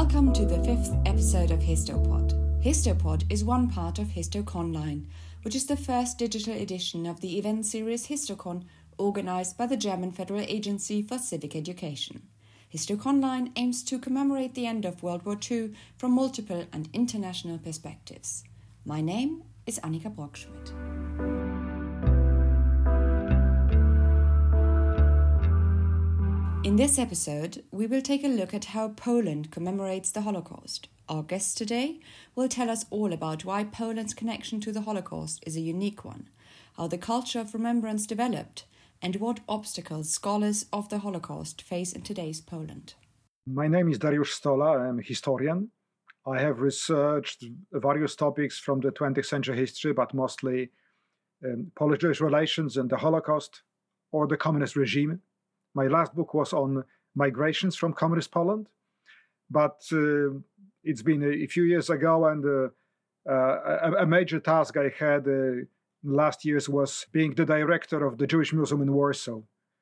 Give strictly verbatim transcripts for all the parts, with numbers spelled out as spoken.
Welcome to the fifth episode of Histopod. Histopod is one part of HistoConline, which is the first digital edition of the event series HistoCon, organized by the German Federal Agency for Civic Education. HistoConline aims to commemorate the end of World War Two from multiple and international perspectives. My name is Annika Brockschmidt. In this episode, we will take a look at how Poland commemorates the Holocaust. Our guest today will tell us all about why Poland's connection to the Holocaust is a unique one, how the culture of remembrance developed, and what obstacles scholars of the Holocaust face in today's Poland. My name is Dariusz Stola. I'm a historian. I have researched various topics from the twentieth century history, but mostly um, Polish-Jewish relations and the Holocaust or the communist regime. My last book was on migrations from communist Poland, but uh, it's been a, a few years ago, and uh, uh, a, a major task I had uh, last years was being the director of the Jewish Museum in Warsaw,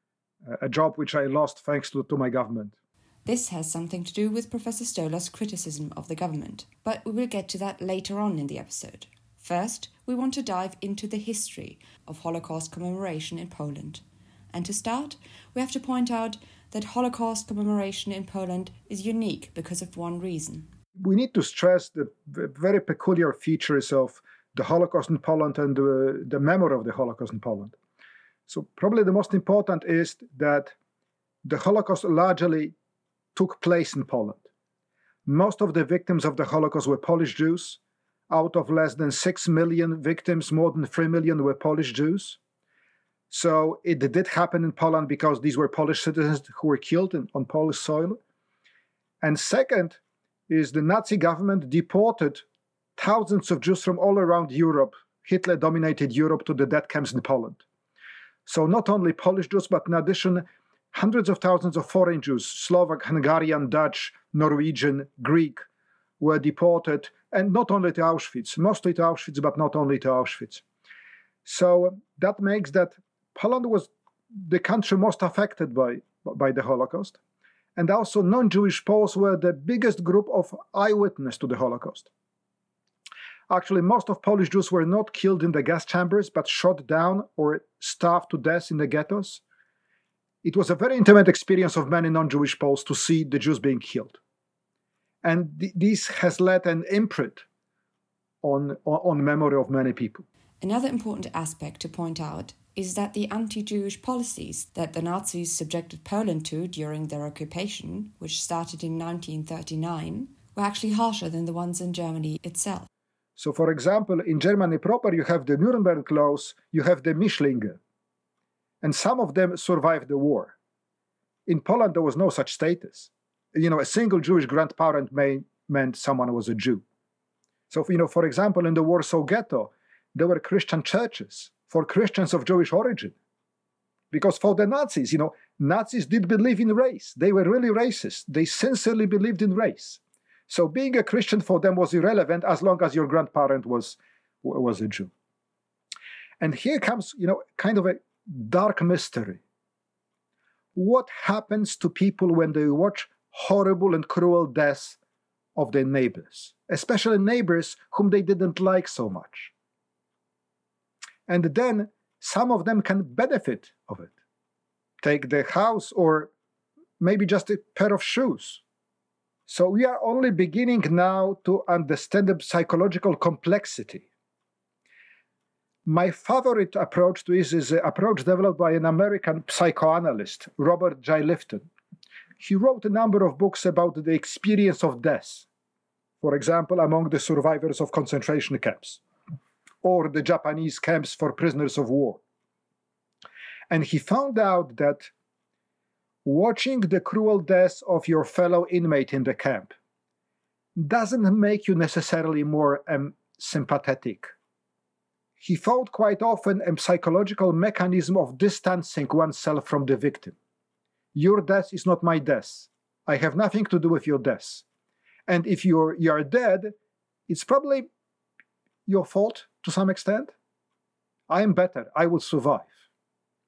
a job which I lost thanks to, to my government. This has something to do with Professor Stola's criticism of the government, but we will get to that later on in the episode. First, we want to dive into the history of Holocaust commemoration in Poland. And to start, we have to point out that Holocaust commemoration in Poland is unique because of one reason. We need to stress the very peculiar features of the Holocaust in Poland and the, the memory of the Holocaust in Poland. So probably the most important is that the Holocaust largely took place in Poland. Most of the victims of the Holocaust were Polish Jews. Out of less than six million victims, more than three million were Polish Jews. So it did happen in Poland because these were Polish citizens who were killed in, on Polish soil. And second is the Nazi government deported thousands of Jews from all around Europe. Hitler dominated Europe to the death camps in Poland. So not only Polish Jews, but in addition, hundreds of thousands of foreign Jews, Slovak, Hungarian, Dutch, Norwegian, Greek, were deported, and not only to Auschwitz, mostly to Auschwitz, but not only to Auschwitz. So that makes that Poland was the country most affected by, by the Holocaust. And also non-Jewish Poles were the biggest group of eyewitnesses to the Holocaust. Actually, most of Polish Jews were not killed in the gas chambers, but shot down or starved to death in the ghettos. It was a very intimate experience of many non-Jewish Poles to see the Jews being killed. And th- this has led an imprint on, on, on memory of many people. Another important aspect to point out is that the anti-Jewish policies that the Nazis subjected Poland to during their occupation, which started in nineteen thirty-nine, were actually harsher than the ones in Germany itself. So, for example, in Germany proper, you have the Nuremberg laws, you have the Mischlinge, and some of them survived the war. In Poland, there was no such status. You know, a single Jewish grandparent may, meant someone was a Jew. So, you know, for example, in the Warsaw Ghetto, there were Christian churches for Christians of Jewish origin. Because for the Nazis, you know, Nazis did believe in race. They were really racist. They sincerely believed in race. So being a Christian for them was irrelevant as long as your grandparent was, was a Jew. And here comes, you know, kind of a dark mystery. What happens to people when they watch horrible and cruel deaths of their neighbors, especially neighbors whom they didn't like so much? And then some of them can benefit of it. Take the house or maybe just a pair of shoes. So we are only beginning now to understand the psychological complexity. My favorite approach to this is an approach developed by an American psychoanalyst, Robert J. Lifton. He wrote a number of books about the experience of death, for example, among the survivors of concentration camps, or the Japanese camps for prisoners of war. And he found out that watching the cruel death of your fellow inmate in the camp doesn't make you necessarily more um, sympathetic. He found quite often a psychological mechanism of distancing oneself from the victim. Your death is not my death. I have nothing to do with your death. And if you're, you are dead, it's probably your fault to some extent. I am better. I will survive.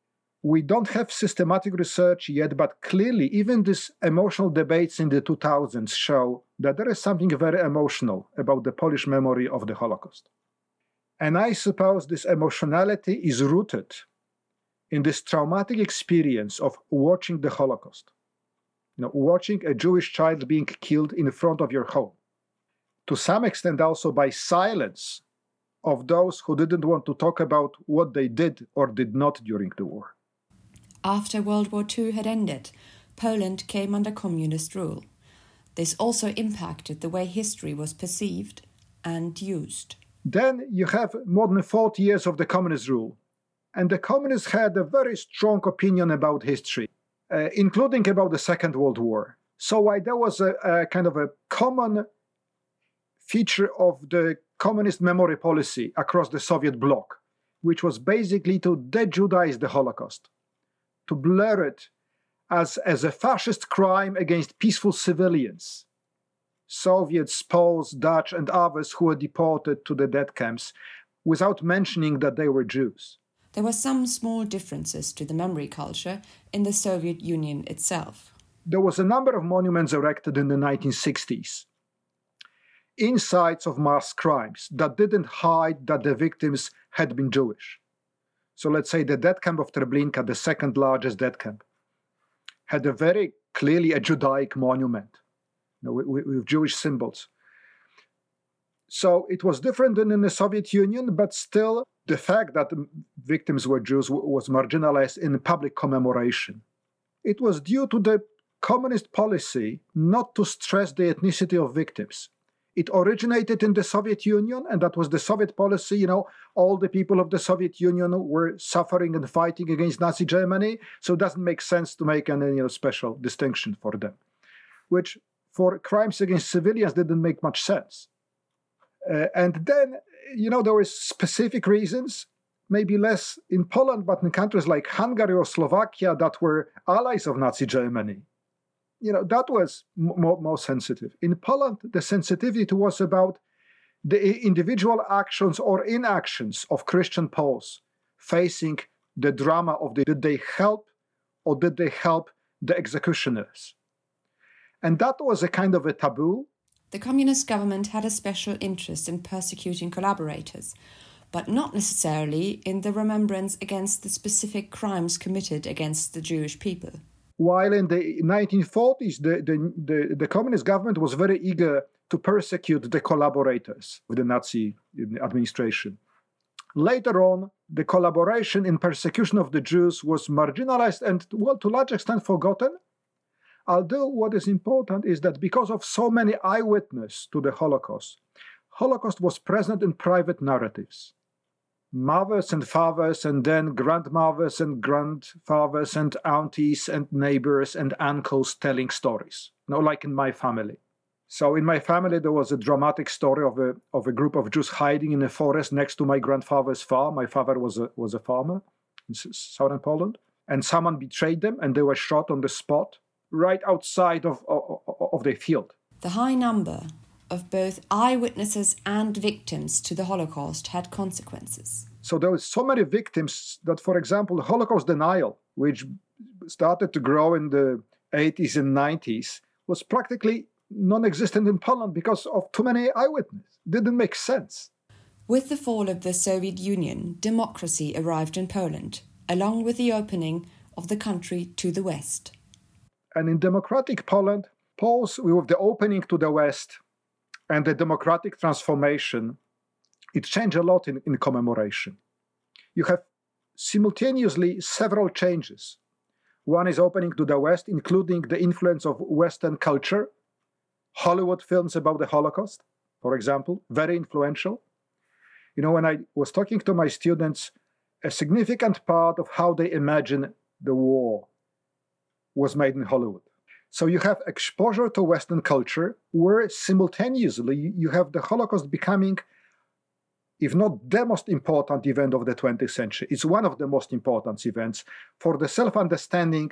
we don't have systematic research yet, but clearly even these emotional debates in the two thousands show that there is something very emotional about the Polish memory of the Holocaust. And I suppose this emotionality is rooted in this traumatic experience of watching the Holocaust. You know, watching a Jewish child being killed in front of your home. To some extent also by silence of those who didn't want to talk about what they did or did not during the war. After World War Two had ended, Poland came under communist rule. This also impacted the way history was perceived and used. Then you have more than forty years of the communist rule. And the communists had a very strong opinion about history, uh, including about the Second World War. So while there was a, a kind of a common feature of the communist memory policy across the Soviet bloc, which was basically to de-Judaize the Holocaust, to blur it as, as a fascist crime against peaceful civilians, Soviets, Poles, Dutch, and others who were deported to the death camps, without mentioning that they were Jews. There were some small differences to the memory culture in the Soviet Union itself. There was a number of monuments erected in the nineteen sixties in sites of mass crimes that didn't hide that the victims had been Jewish. So let's say the death camp of Treblinka, the second largest death camp, had a very clearly a Judaic monument, you know, with, with Jewish symbols. So it was different than in the Soviet Union, but still the fact that the victims were Jews was marginalized in public commemoration. It was due to the communist policy not to stress the ethnicity of victims. It originated in the Soviet Union, and that was the Soviet policy. You know, all the people of the Soviet Union were suffering and fighting against Nazi Germany, so it doesn't make sense to make any, you know, special distinction for them, which for crimes against civilians didn't make much sense. Uh, and then, you know, there were specific reasons, maybe less in Poland, but in countries like Hungary or Slovakia that were allies of Nazi Germany. You know, that was more, more sensitive. In Poland, the sensitivity was about the individual actions or inactions of Christian Poles facing the drama of the, did they help or did they help the executioners? And that was a kind of a taboo. The communist government had a special interest in persecuting collaborators, but not necessarily in the remembrance against the specific crimes committed against the Jewish people. While in the nineteen forties, the, the, the, the communist government was very eager to persecute the collaborators with the Nazi administration. Later on, the collaboration in persecution of the Jews was marginalized and, well, to a large extent forgotten. Although what is important is that because of so many eyewitnesses to the Holocaust, Holocaust was present in private narratives. Mothers and fathers, and then grandmothers and grandfathers and aunties and neighbors and uncles telling stories, you know, like in my family. So in my family, there was a dramatic story of a, of a group of Jews hiding in a forest next to my grandfather's farm. My father was a, was a farmer in southern Poland, and someone betrayed them and they were shot on the spot right outside of, of, of their field. The high number of both eyewitnesses and victims to the Holocaust had consequences. So there were so many victims that, for example, the Holocaust denial, which started to grow in the eighties and nineties, was practically non-existent in Poland because of too many eyewitnesses. It didn't make sense. With the fall of the Soviet Union, democracy arrived in Poland, along with the opening of the country to the West. And in democratic Poland, Poles, with the opening to the West and the democratic transformation, it changed a lot in, in commemoration. You have simultaneously several changes. One is opening to the West, including the influence of Western culture, Hollywood films about the Holocaust, for example, very influential. You know, when I was talking to my students, a significant part of how they imagine the war was made in Hollywood. So you have exposure to Western culture, where simultaneously you have the Holocaust becoming, if not the most important event of the twentieth century, it's one of the most important events for the self-understanding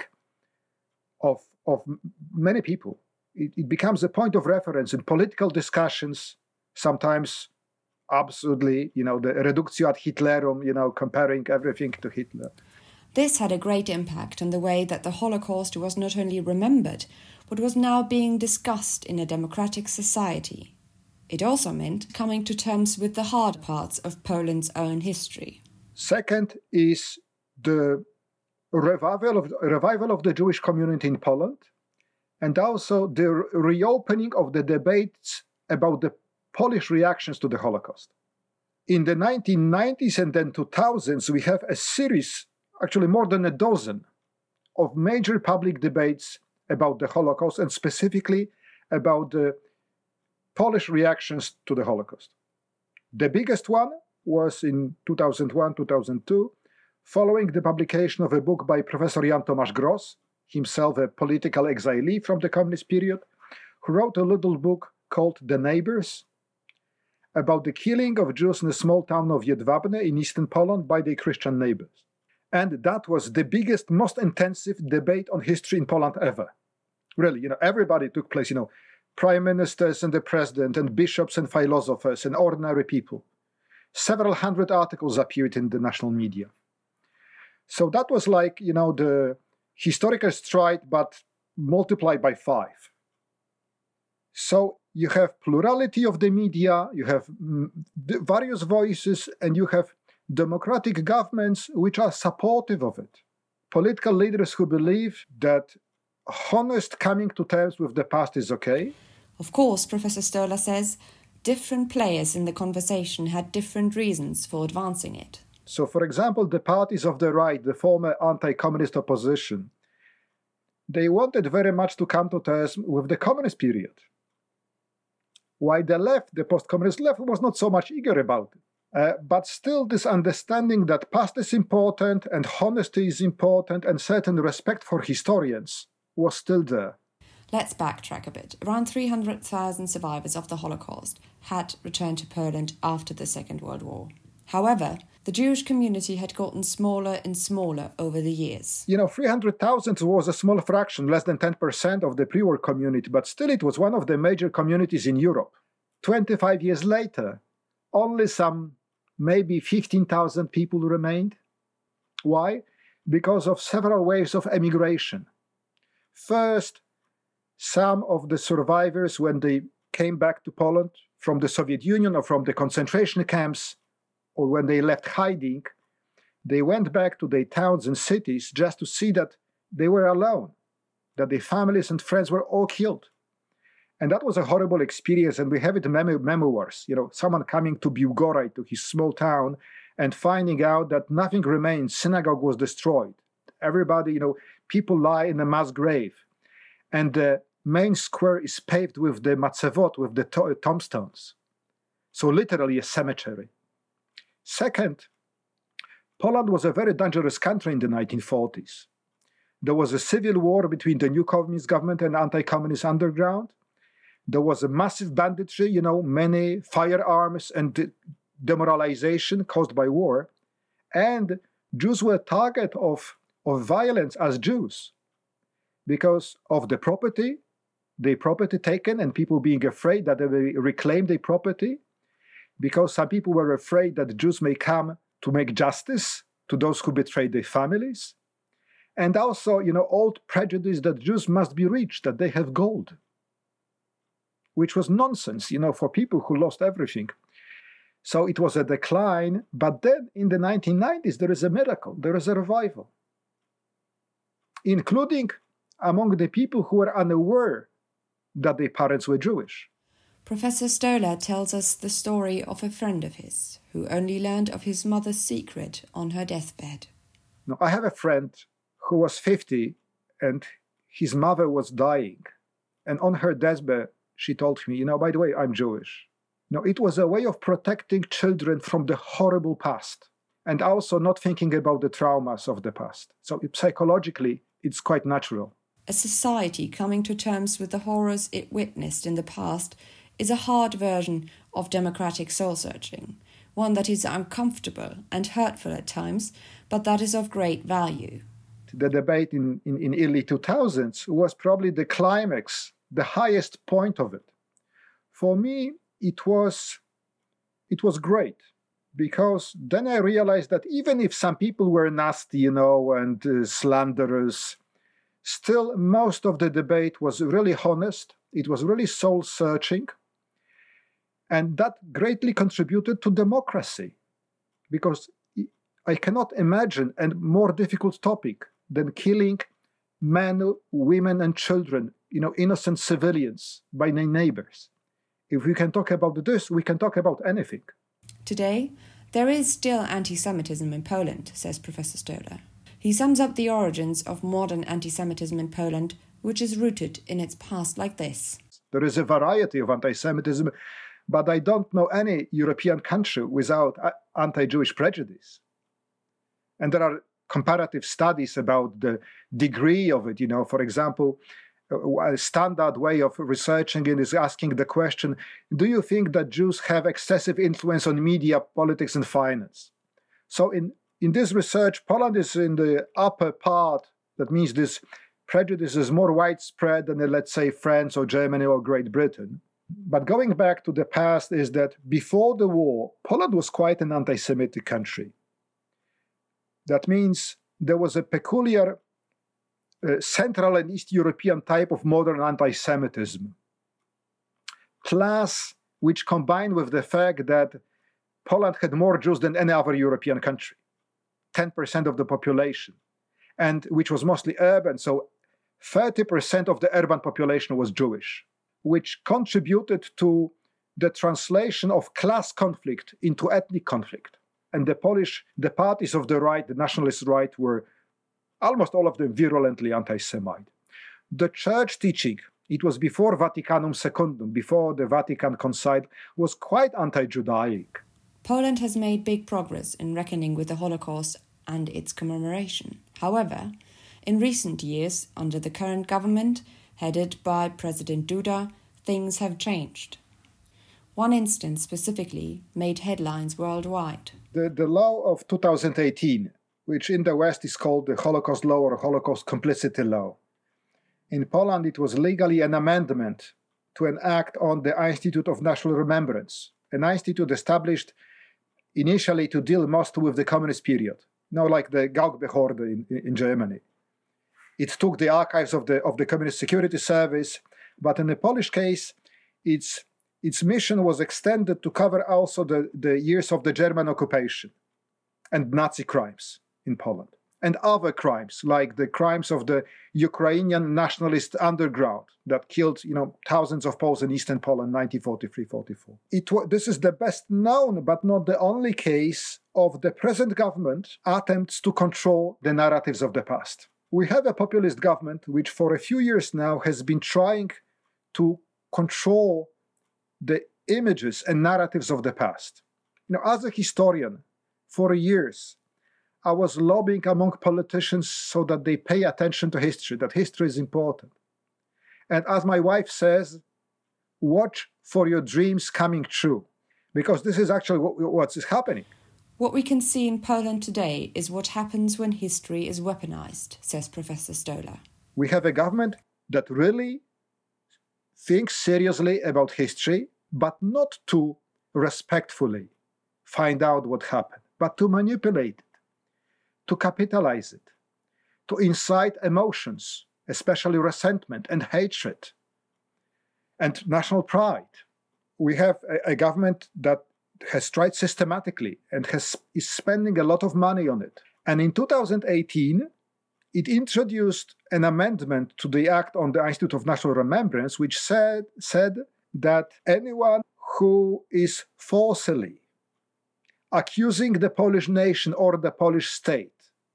of, of many people. It, it becomes a point of reference in political discussions, sometimes absurdly, you know, the reductio ad Hitlerum, you know, comparing everything to Hitler. This had a great impact on the way that the Holocaust was not only remembered, but was now being discussed in a democratic society. It also meant coming to terms with the hard parts of Poland's own history. Second is the revival of, revival of the Jewish community in Poland, and also the reopening of the debates about the Polish reactions to the Holocaust. In the nineteen nineties and then two thousands, we have a series, actually more than a dozen, of major public debates about the Holocaust, and specifically about the Polish reactions to the Holocaust. The biggest one was in two thousand one, two thousand two, following the publication of a book by Professor Jan Tomasz Gross, himself a political exilee from the communist period, who wrote a little book called The Neighbors, about the killing of Jews in the small town of Jedwabne in eastern Poland by their Christian neighbors. And that was the biggest, most intensive debate on history in Poland ever. Really, you know, everybody took place, you know, prime ministers and the president and bishops and philosophers and ordinary people. Several hundred articles appeared in the national media. So that was like, you know, the historical stride, but multiplied by five. So you have plurality of the media, you have various voices, and you have democratic governments which are supportive of it. Political leaders who believe that honest coming to terms with the past is okay. Of course, Professor Stolar says, different players in the conversation had different reasons for advancing it. So, for example, the parties of the right, the former anti-communist opposition, they wanted very much to come to terms with the communist period. While the left, the post-communist left, was not so much eager about it. Uh, but still this understanding that past is important and honesty is important and certain respect for historians was still there. Let's backtrack a bit. Around three hundred thousand survivors of the Holocaust had returned to Poland after the Second World War. However, the Jewish community had gotten smaller and smaller over the years. You know, three hundred thousand was a small fraction, less than ten percent of the pre-war community, but still it was one of the major communities in Europe. twenty-five years later, only some maybe fifteen thousand people remained. Why? Because of several waves of emigration. First, some of the survivors, when they came back to Poland from the Soviet Union or from the concentration camps, or when they left hiding, they went back to their towns and cities just to see that they were alone, that their families and friends were all killed. And that was a horrible experience, and we have it in mem- memoirs. You know, someone coming to Biłgoraj, to his small town, and finding out that nothing remains. Synagogue was destroyed. Everybody, you know, people lie in a mass grave. And the main square is paved with the matzevot, with the to- tombstones. So literally a cemetery. Second, Poland was a very dangerous country in the nineteen forties. There was a civil war between the new communist government and anti-communist underground. There was a massive banditry, you know, many firearms and de- demoralization caused by war. And Jews were target of, of violence as Jews because of the property, the property taken and people being afraid that they will reclaim their property, because some people were afraid that Jews may come to make justice to those who betrayed their families. And also, you know, old prejudice that Jews must be rich, that they have gold, which was nonsense, you know, for people who lost everything. So it was a decline, but then in the nineteen nineties, there is a miracle, there is a revival, including among the people who were unaware that their parents were Jewish. Professor Stolar tells us the story of a friend of his who only learned of his mother's secret on her deathbed. Now, I have a friend who was fifty and his mother was dying. And on her deathbed, she told me, you know, by the way, I'm Jewish. No, it was a way of protecting children from the horrible past and also not thinking about the traumas of the past. So psychologically, it's quite natural. A society coming to terms with the horrors it witnessed in the past is a hard version of democratic soul-searching, one that is uncomfortable and hurtful at times, but that is of great value. The debate in, in, in early two thousands was probably the climax, the highest point of it. For me, it was, it was great because then I realized that even if some people were nasty, you know, and uh, slanderous, still most of the debate was really honest. It was really soul-searching. And that greatly contributed to democracy, because I cannot imagine a more difficult topic than killing men, women, and children, you know, innocent civilians by their neighbors. If we can talk about this, we can talk about anything. Today, there is still anti-Semitism in Poland, says Professor Stolar. He sums up the origins of modern anti-Semitism in Poland, which is rooted in its past like this. There is a variety of anti-Semitism, but I don't know any European country without anti-Jewish prejudice. And there are comparative studies about the degree of it. You know, for example, a standard way of researching it is asking the question, do you think that Jews have excessive influence on media, politics, and finance? So in, in this research, Poland is in the upper part. That means this prejudice is more widespread than, let's say, France or Germany or Great Britain. But going back to the past is that before the war, Poland was quite an anti-Semitic country. That means there was a peculiar uh, Central and East European type of modern anti-Semitism, plus which combined with the fact that Poland had more Jews than any other European country, ten percent of the population, and which was mostly urban, so thirty percent of the urban population was Jewish, which contributed to the translation of class conflict into ethnic conflict. And the Polish, the parties of the right, the nationalist right, were almost all of them virulently anti-Semite. The church teaching, it was before Vaticanum Secundum, before the Vatican Concile, was quite anti-Judaic. Poland has made big progress in reckoning with the Holocaust and its commemoration. However, in recent years, under the current government, headed by President Duda, things have changed. One instance specifically made headlines worldwide. The, the law of two thousand eighteen, which in the West is called the Holocaust Law or Holocaust Complicity Law. In Poland, it was legally an amendment to an act on the Institute of National Remembrance, an institute established initially to deal mostly with the communist period, you know, like the Gauckbehörde in, in Germany. It took the archives of the, of the Communist Security Service, but in the Polish case, its Its mission was extended to cover also the, the years of the German occupation and Nazi crimes in Poland, and other crimes like the crimes of the Ukrainian nationalist underground that killed, you know, thousands of Poles in Eastern Poland, nineteen forty-three forty-four. It, this is the best known, but not the only case of the present government attempts to control the narratives of the past. We have a populist government which for a few years now has been trying to control the images and narratives of the past. You know, as a historian, for years, I was lobbying among politicians so that they pay attention to history, that history is important. And as my wife says, watch for your dreams coming true, because this is actually what, what is happening. What we can see in Poland today is what happens when history is weaponized, says Professor Stolar. We have a government that really thinks seriously about history, but not to respectfully find out what happened, but to manipulate it, to capitalize it, to incite emotions, especially resentment and hatred and national pride. We have a, a government that has tried systematically and has, is spending a lot of money on it. And in two thousand eighteen, it introduced an amendment to the Act on the Institute of National Remembrance, which said, said that anyone who is falsely accusing the Polish nation or the Polish state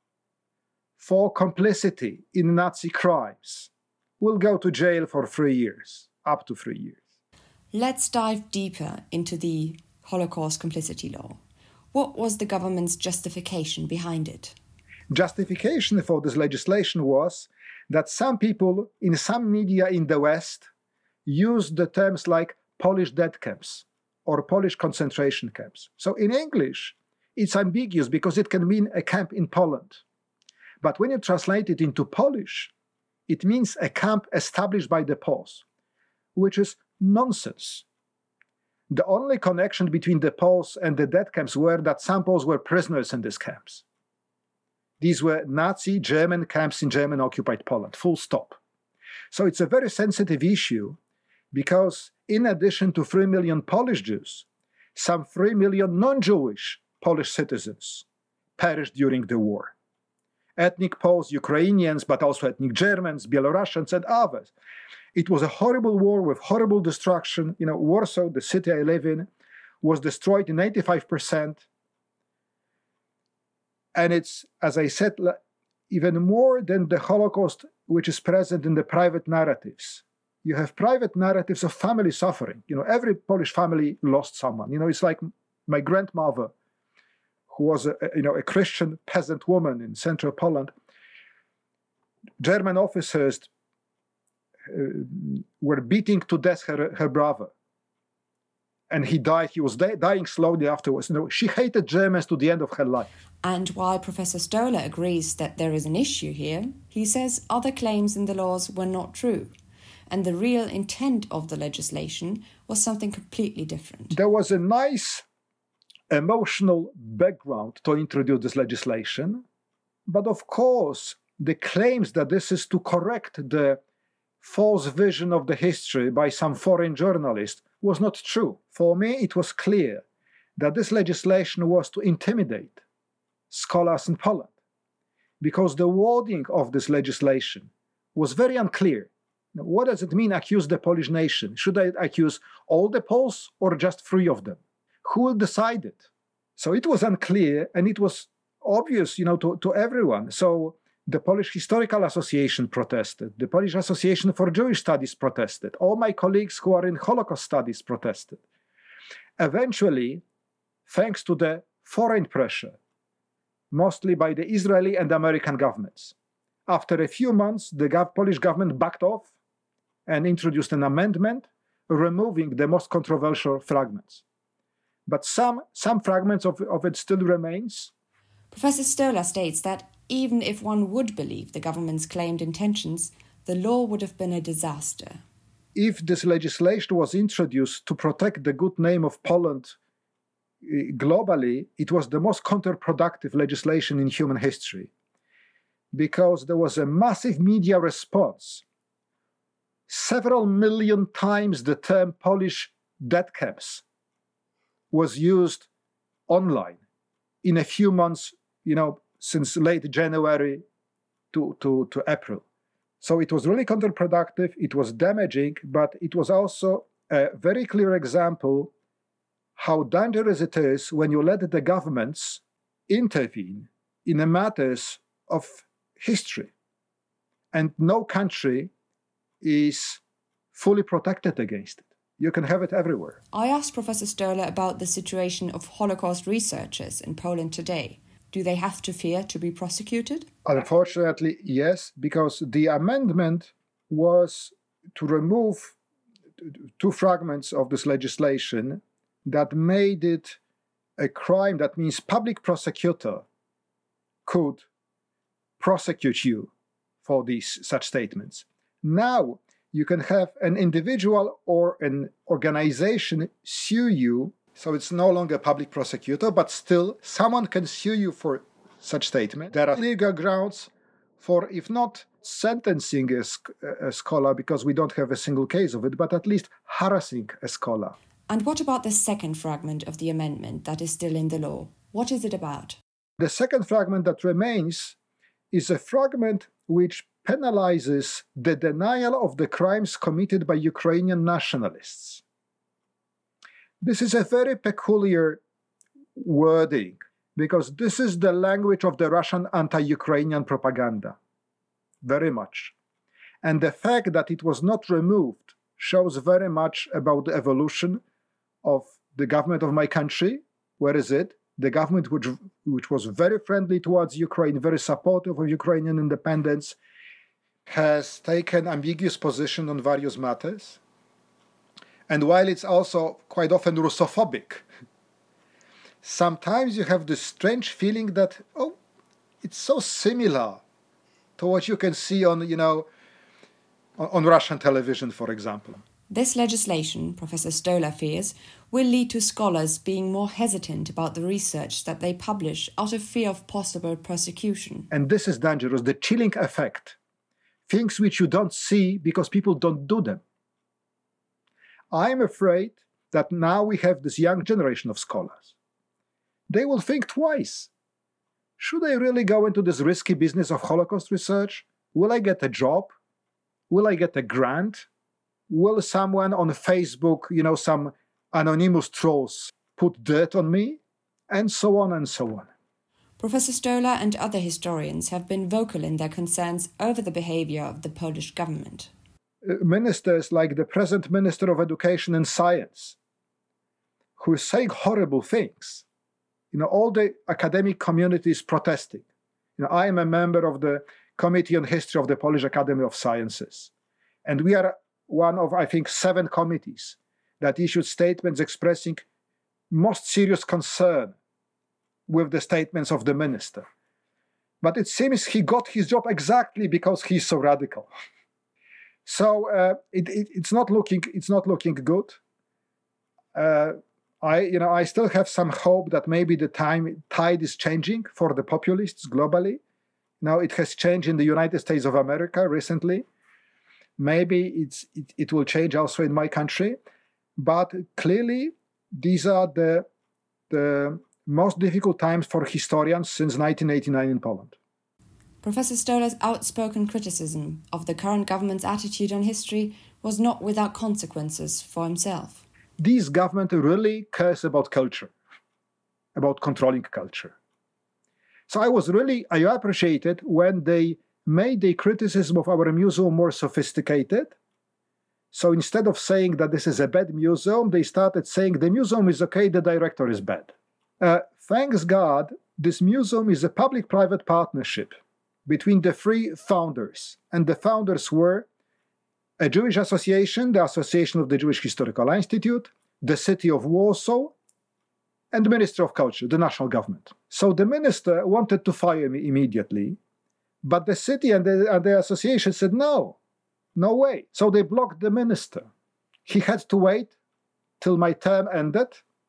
for complicity in Nazi crimes will go to jail for three years, up to three years. Let's dive deeper into the Holocaust Complicity Law. What was the government's justification behind it? Justification for this legislation was that some people in some media in the West used the terms like Polish death camps or Polish concentration camps. So in English, it's ambiguous because it can mean a camp in Poland. But when you translate it into Polish, it means a camp established by the Poles, which is nonsense. The only connection between the Poles and the death camps were that some Poles were prisoners in these camps. These were Nazi German camps in German-occupied Poland, full stop. So it's a very sensitive issue because in addition to three million Polish Jews, some three million non-Jewish Polish citizens perished during the war. Ethnic Poles, Ukrainians, but also ethnic Germans, Belarusians, and others. It was a horrible war with horrible destruction. You know, Warsaw, the city I live in, was destroyed in eighty-five percent. And it's, as I said, even more than the Holocaust, which is present in the private narratives. You have private narratives of family suffering. You know, every Polish family lost someone. You know, it's like my grandmother, who was a, you know, a Christian peasant woman in central Poland. German officers uh, were beating to death her, her brother. And he died. He was di- dying slowly afterwards. You know, she hated Germans to the end of her life. And while Professor Stolar agrees that there is an issue here, he says other claims in the laws were not true. And the real intent of the legislation was something completely different. There was a nice emotional background to introduce this legislation. But of course, the claims that this is to correct the false vision of the history by some foreign journalist was not true. For me, it was clear that this legislation was to intimidate scholars in Poland, because the wording of this legislation was very unclear. Now, what does it mean, accuse the Polish nation? Should I accuse all the Poles or just three of them? Who will decide it? So it was unclear, and it was obvious, you know, to, to everyone. So the Polish Historical Association protested. The Polish Association for Jewish Studies protested. All my colleagues who are in Holocaust studies protested. Eventually, thanks to the foreign pressure, mostly by the Israeli and American governments, after a few months, the gov- Polish government backed off and introduced an amendment removing the most controversial fragments. But some, some fragments of, of it still remains. Professor Stolar states that even if one would believe the government's claimed intentions, the law would have been a disaster. If this legislation was introduced to protect the good name of Poland globally, it was the most counterproductive legislation in human history, because there was a massive media response. Several million times the term Polish death camps was used online in a few months, you know, since late January to, to, to April. So it was really counterproductive, it was damaging, but it was also a very clear example how dangerous it is when you let the governments intervene in the matters of history. And no country is fully protected against it. You can have it everywhere. I asked Professor Stolar about the situation of Holocaust researchers in Poland today. Do they have to fear to be prosecuted? Unfortunately, yes, because the amendment was to remove two fragments of this legislation that made it a crime. That means public prosecutor could prosecute you for these such statements. Now you can have an individual or an organization sue you, so it's no longer a public prosecutor, but still someone can sue you for such statement. There are legal grounds for, if not sentencing a, a scholar, because we don't have a single case of it, but at least harassing a scholar. And what about the second fragment of the amendment that is still in the law? What is it about? The second fragment that remains is a fragment which penalizes the denial of the crimes committed by Ukrainian nationalists. This is a very peculiar wording, because this is the language of the Russian anti-Ukrainian propaganda, very much. And the fact that it was not removed shows very much about the evolution of the government of my country. Where is it? The government which, which was very friendly towards Ukraine, very supportive of Ukrainian independence, has taken ambiguous position on various matters. And while it's also quite often Russophobic, sometimes you have this strange feeling that, oh, it's so similar to what you can see on, you know, on, on Russian television, for example. This legislation, Professor Stolar fears, will lead to scholars being more hesitant about the research that they publish out of fear of possible persecution. And this is dangerous, the chilling effect. Things which you don't see because people don't do them. I'm afraid that now we have this young generation of scholars. They will think twice. Should I really go into this risky business of Holocaust research? Will I get a job? Will I get a grant? Will someone on Facebook, you know, some anonymous trolls put dirt on me? And so on and so on. Professor Stolar and other historians have been vocal in their concerns over the behavior of the Polish government. Ministers like the present Minister of Education and Science, who is saying horrible things. You know, all the academic community is protesting. You know, I am a member of the Committee on History of the Polish Academy of Sciences. And we are one of, I think, seven committees that issued statements expressing most serious concern with the statements of the minister. But it seems he got his job exactly because he's so radical. So uh, it, it, it's not looking it's not looking good. Uh, I you know I still have some hope that maybe the time tide is changing for the populists globally. Now it has changed in the United States of America recently. Maybe it's it, it will change also in my country. But clearly, these are the the most difficult times for historians since nineteen eighty-nine in Poland. Professor Stolar's outspoken criticism of the current government's attitude on history was not without consequences for himself. This government really cares about culture, about controlling culture. So I was really, I appreciated when they made the criticism of our museum more sophisticated. So instead of saying that this is a bad museum, they started saying the museum is okay, the director is bad. Uh, thanks God, this museum is a public-private partnership between the three founders. And the founders were a Jewish association, the Association of the Jewish Historical Institute, the city of Warsaw, and the Ministry of Culture, the national government. So the minister wanted to fire me immediately, but the city and the, and the association said, no, no way. So they blocked the minister. He had to wait till my term ended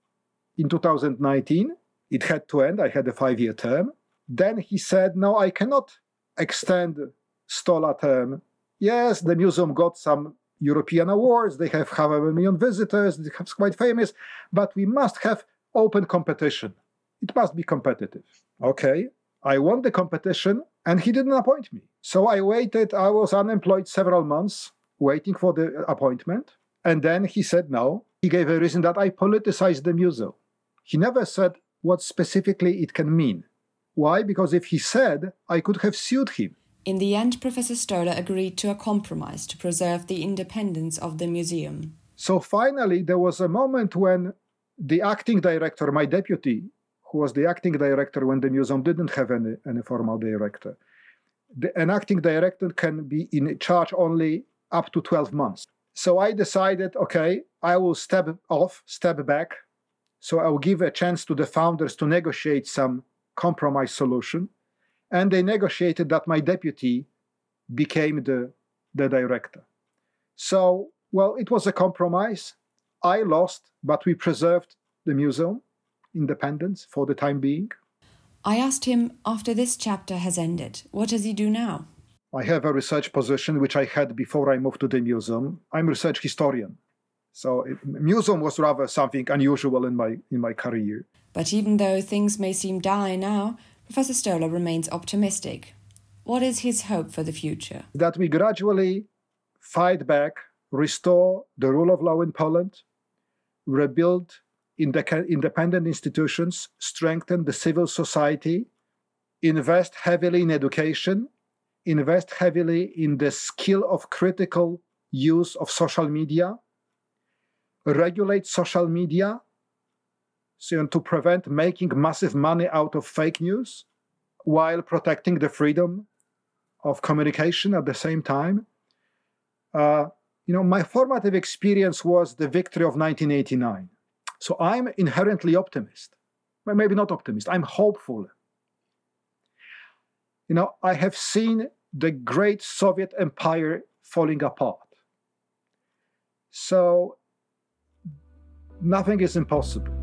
in two thousand nineteen. It had to end. I had a five-year term. Then he said, no, I cannot extend Stolar term. Yes, the museum got some European awards. They have half a million visitors. It's quite famous. But we must have open competition. It must be competitive. Okay, I won the competition and he didn't appoint me. So I waited. I was unemployed several months waiting for the appointment. And then he said no. He gave a reason that I politicized the museum. He never said what specifically it can mean. Why? Because if he said, I could have sued him. In the end, Professor Stolar agreed to a compromise to preserve the independence of the museum. So finally, there was a moment when the acting director, my deputy, who was the acting director when the museum didn't have any, any formal director, the, an acting director can be in charge only up to twelve months. So I decided, okay, I will step off, step back. So I will give a chance to the founders to negotiate some compromise solution. And they negotiated that my deputy became the, the director. So, well, it was a compromise. I lost, but we preserved the museum independence for the time being. I asked him, after this chapter has ended, what does he do now? I have a research position, which I had before I moved to the museum. I'm a research historian. So it, museum was rather something unusual in my in my career. But even though things may seem dire now, Professor Stolar remains optimistic. What is his hope for the future? That we gradually fight back, restore the rule of law in Poland, rebuild independent institutions, strengthen the civil society, invest heavily in education, invest heavily in the skill of critical use of social media, regulate social media, so to prevent making massive money out of fake news while protecting the freedom of communication at the same time. Uh, you know, my formative experience was the victory of nineteen eighty-nine. So I'm inherently optimist. Well, maybe not optimist, I'm hopeful. You know, I have seen the great Soviet Empire falling apart. So Nothing is impossible.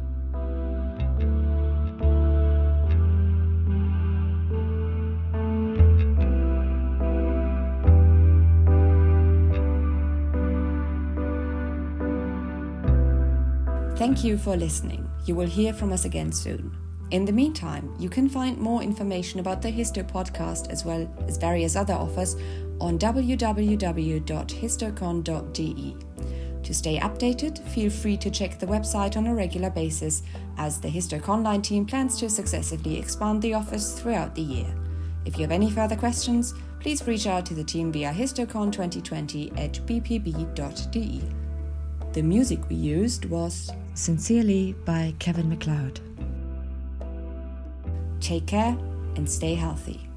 Thank you for listening. You will hear from us again soon. In the meantime, you can find more information about the Histo podcast as well as various other offers on w w w dot histocon dot d e. To stay updated, feel free to check the website on a regular basis, as the HistoConline team plans to successively expand the offers throughout the year. If you have any further questions, please reach out to the team via histocon twenty twenty at b p b dot d e. The music we used was Sincerely by Kevin MacLeod. Take care and stay healthy.